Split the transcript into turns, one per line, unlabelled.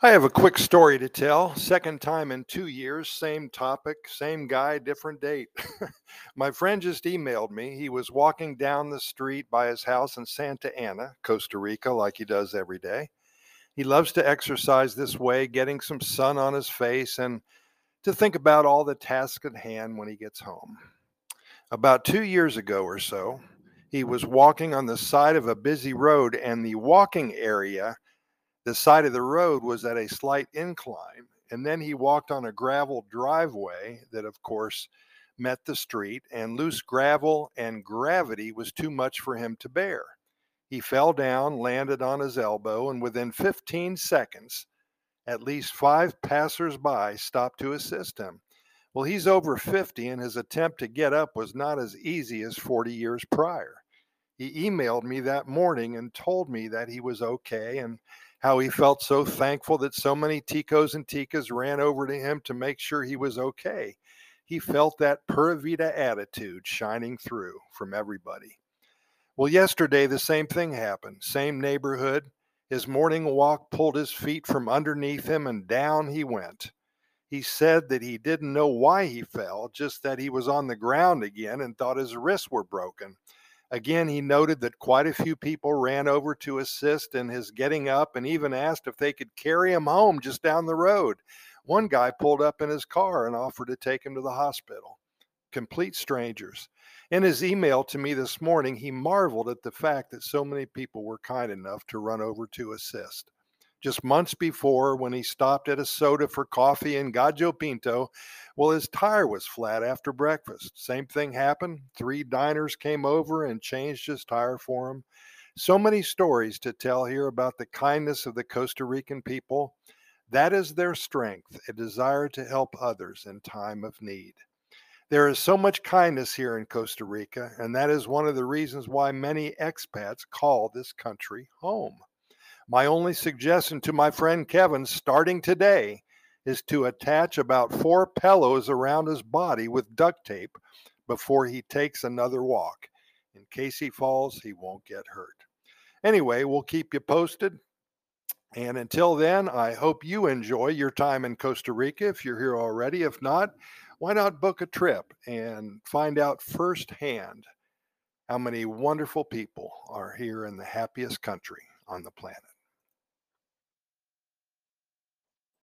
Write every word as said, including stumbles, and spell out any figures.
I have a quick story to tell. Second time in two years, same topic, same guy, different date. My friend just emailed me. He was walking down the street by his house in Santa Ana, Costa Rica, like he does every day. He loves to exercise this way, getting some sun on his face and to think about all the tasks at hand when he gets home. About two years ago or so, he was walking on the side of a busy road, and the walking area, the side of the road was at a slight incline, and then he walked on a gravel driveway that, of course, met the street, and loose gravel and gravity was too much for him to bear. He fell down, landed on his elbow, and within fifteen seconds, at least five passersby stopped to assist him. Well, he's over fifty, and his attempt to get up was not as easy as forty years prior. He emailed me that morning and told me that he was okay and how he felt so thankful that so many ticos and ticas ran over to him to make sure he was okay. He felt that Pura Vida attitude shining through from everybody. Well, yesterday the same thing happened. Same neighborhood. His morning walk pulled his feet from underneath him and down he went. He said that he didn't know why he fell, just that he was on the ground again and thought his wrists were broken. Again, he noted that quite a few people ran over to assist in his getting up and even asked if they could carry him home just down the road. One guy pulled up in his car and offered to take him to the hospital. Complete strangers. In his email to me this morning, he marveled at the fact that so many people were kind enough to run over to assist. Just months before, when he stopped at a soda for coffee in Gallo Pinto, well, his tire was flat after breakfast. Same thing happened. Three diners came over and changed his tire for him. So many stories to tell here about the kindness of the Costa Rican people. That is their strength, a desire to help others in time of need. There is so much kindness here in Costa Rica, and that is one of the reasons why many expats call this country home. My only suggestion to my friend Kevin, starting today, is to attach about four pillows around his body with duct tape before he takes another walk. In case he falls, he won't get hurt. Anyway, we'll keep you posted. And until then, I hope you enjoy your time in Costa Rica if you're here already. If not, why not book a trip and find out firsthand how many wonderful people are here in the happiest country on the planet.